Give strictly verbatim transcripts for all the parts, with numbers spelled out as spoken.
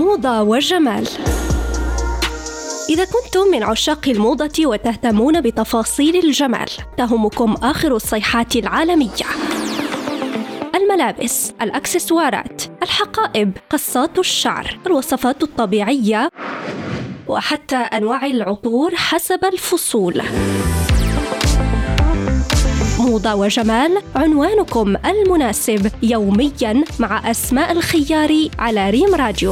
موضة وجمال. إذا كنتم من عشاق الموضة وتهتمون بتفاصيل الجمال، تهمكم آخر الصيحات العالمية: الملابس، الأكسسوارات، الحقائب، قصات الشعر، الوصفات الطبيعية، وحتى أنواع العطور حسب الفصول. موضة وجمال، عنوانكم المناسب يومياً مع أسماء الخياري على ريم راديو.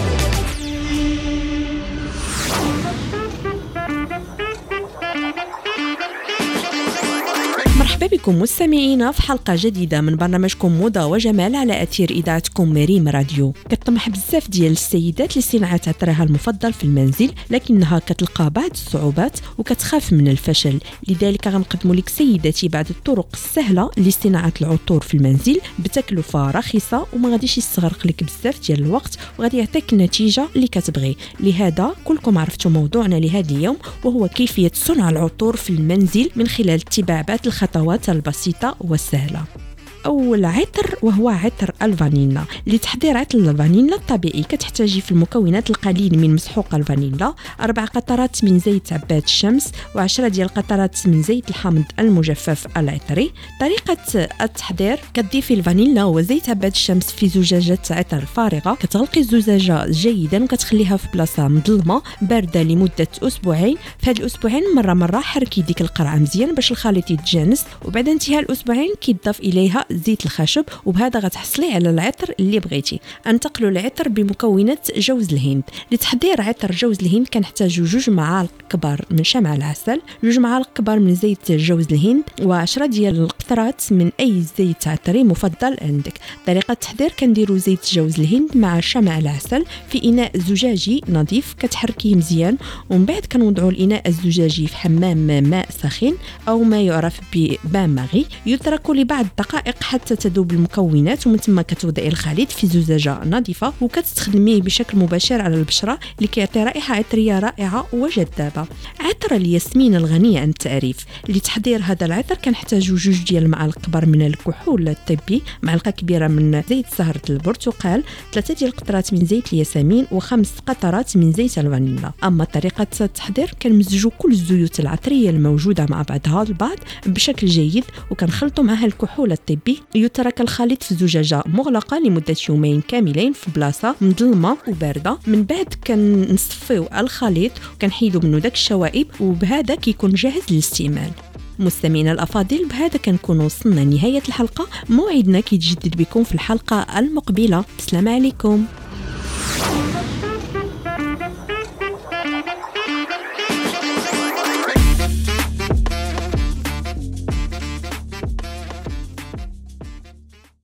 مرحبا بكم مستمعينا في حلقة جديدة من برنامجكم موضة وجمال على أثير إذاعتكم ريم راديو. كتطمح بزاف ديال السيدات لصناعة عطرها المفضل في المنزل، لكنها كتلقى بعض الصعوبات وكتخاف من الفشل. لذلك غنقدموا لك سيداتي بعض الطرق السهلة لصناعة العطور في المنزل بتكلفة رخيصة، وما غاديش يستغرق لك بزاف ديال الوقت، وغادي يعطيك النتيجة اللي كتبغي. لهذا كلكم عرفتوا موضوعنا لهذا اليوم، وهو كيفية صنع العطور في المنزل من خلال اتباع بعض الخطوات البسيطة والسهلة. أول عطر وهو عطر الفانيلا. لتحضير عطر الفانيلا الطبيعي كتحتاجي في المكونات القليل من مسحوق الفانيلا، أربع قطرات من زيت عباد الشمس، وعشرة ديال القطرات من زيت الحامض المجفف العطري. طريقة التحضير: كتضيفي الفانيلا وزيت عباد الشمس في زجاجة عطر فارغة، كتغلقي الزجاجة جيدا وكتخليها في بلاصة مظلمة باردة لمدة أسبوعين. في هاد الأسبوعين مرة مرة حركي ديك القرعة مزيان باش الخليط يتجانس، وبعد انتهاء الأسبوعين كيضاف إليها زيت الخشب، وبهذا غتحصلي على العطر اللي بغيتي. انتقلوا العطر بمكونات جوز الهند. لتحضير عطر جوز الهند كنحتاجوا جوج معالق كبار من شمع العسل، جوج معالق كبار من زيت جوز الهند، وعشرة ديال القطرات من اي زيت عطري مفضل عندك. طريقه التحضير: كنديروا زيت جوز الهند مع شمع العسل في اناء زجاجي نظيف، كتحركيه مزيان، ومن بعد كنوضعوا الاناء الزجاجي في حمام ماء سخين او ما يعرف ببان ماغي، يترك لبعض الدقائق حتى تذوب المكونات، ومن ثم كتوضعي الخليط في زجاجه نظيفه وكتستخدميه بشكل مباشر على البشره لكيعطي رائحه عطريه رائعه وجذابه. عطر الياسمين الغني عن التعريف. لتحضير هذا العطر كنحتاجوا جوج ديال المعالق كبار من الكحول الطبي، معلقه كبيره من زيت زهره البرتقال، ثلاثه ديال القطرات من زيت الياسمين، وخمس قطرات من زيت الفانيلا. اما طريقه التحضير: كنمزجوا كل الزيوت العطريه الموجوده مع بعضها البعض بشكل جيد، وكنخلطوا معها الكحول الطبي. يترك الخليط في زجاجة مغلقة لمدة يومين كاملين في بلاصة مظلمة وباردة. من بعد كنصفيو الخليط وكنحيدوا منه داك الشوائب، وبهذا كيكون جاهز للاستعمال. مستمعينا الأفاضل، بهذا كنكون وصلنا لنهاية الحلقة. موعدنا كيتجدد بكم في الحلقة المقبلة. السلام عليكم.